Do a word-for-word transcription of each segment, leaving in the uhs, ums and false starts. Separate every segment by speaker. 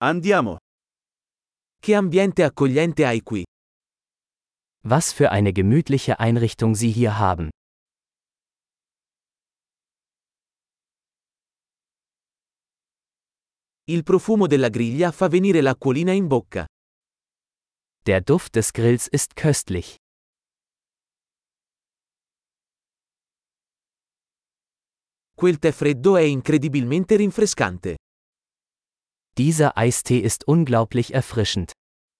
Speaker 1: Andiamo.
Speaker 2: Che ambiente accogliente hai qui.
Speaker 3: Was für eine gemütliche Einrichtung Sie hier haben.
Speaker 2: Il profumo della griglia fa venire l'acquolina in bocca.
Speaker 3: Der Duft des Grills ist köstlich.
Speaker 2: Quel tè freddo è incredibilmente rinfrescante.
Speaker 3: Dieser Eistee ist unglaublich erfrischend.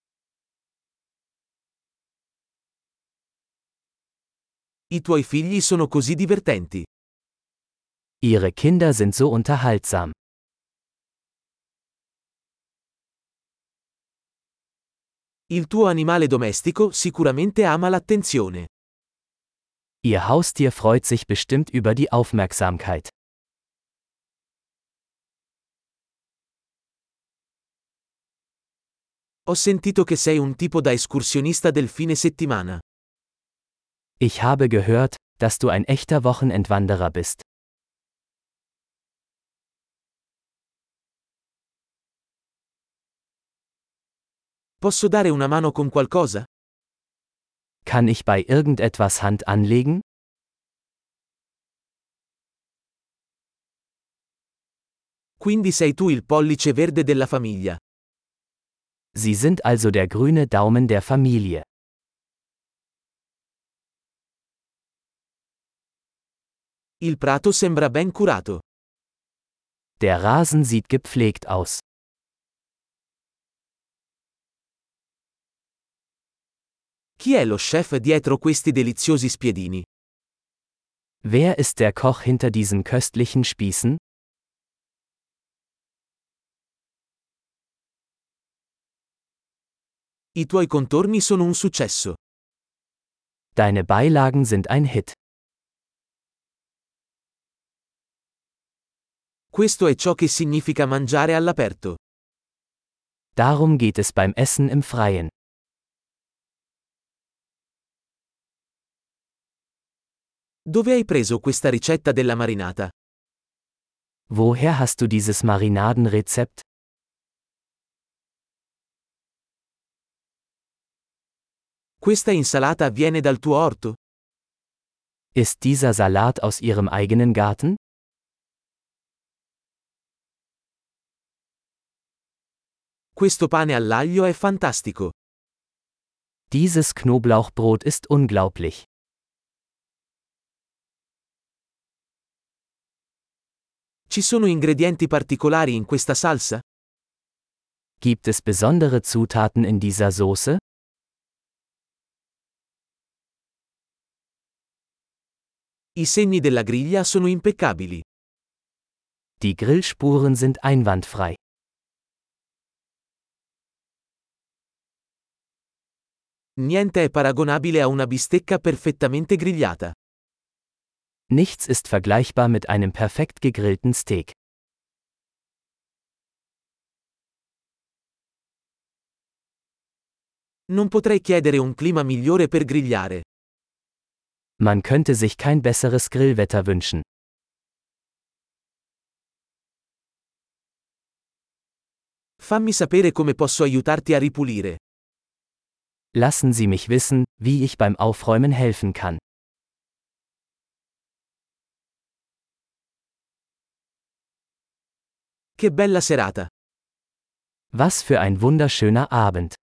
Speaker 2: I tuoi figli sono così divertenti.
Speaker 3: Ihre Kinder sind so unterhaltsam.
Speaker 2: Il tuo animale domestico sicuramente ama l'attenzione.
Speaker 3: Ihr Haustier freut sich bestimmt über die Aufmerksamkeit.
Speaker 2: Ho sentito che sei un tipo da escursionista del fine settimana.
Speaker 3: Ich habe gehört, dass du ein echter Wochenendwanderer bist.
Speaker 2: Posso dare una mano con qualcosa?
Speaker 3: Kann ich bei irgendetwas Hand anlegen?
Speaker 2: Quindi sei tu il pollice verde della famiglia.
Speaker 3: Sie sind also der grüne Daumen der Familie.
Speaker 2: Il prato sembra ben curato.
Speaker 3: Der Rasen sieht gepflegt aus.
Speaker 2: Chi è lo chef dietro questi deliziosi spiedini?
Speaker 3: Wer ist der Koch hinter diesen köstlichen Spießen?
Speaker 2: I tuoi contorni sono un successo.
Speaker 3: Deine Beilagen sind ein Hit.
Speaker 2: Questo è ciò che significa mangiare all'aperto.
Speaker 3: Darum geht es beim Essen im Freien.
Speaker 2: Dove hai preso questa ricetta della marinata?
Speaker 3: Woher hast du dieses Marinadenrezept?
Speaker 2: Questa insalata viene dal tuo orto?
Speaker 3: Ist dieser Salat aus Ihrem eigenen Garten?
Speaker 2: Questo pane all'aglio è fantastico.
Speaker 3: Dieses Knoblauchbrot ist unglaublich.
Speaker 2: Ci sono ingredienti particolari in questa salsa?
Speaker 3: Gibt es besondere Zutaten in dieser Soße?
Speaker 2: I segni della griglia sono impeccabili.
Speaker 3: Die Grillspuren sind einwandfrei.
Speaker 2: Niente è paragonabile a una bistecca perfettamente grigliata.
Speaker 3: Nichts ist vergleichbar mit einem perfekt gegrillten Steak.
Speaker 2: Non potrei chiedere un clima migliore per grigliare.
Speaker 3: Man könnte sich kein besseres Grillwetter wünschen.
Speaker 2: Fammi sapere come posso aiutarti a ripulire.
Speaker 3: Lassen Sie mich wissen, wie ich beim Aufräumen helfen kann.
Speaker 2: Che bella serata!
Speaker 3: Was für ein wunderschöner Abend!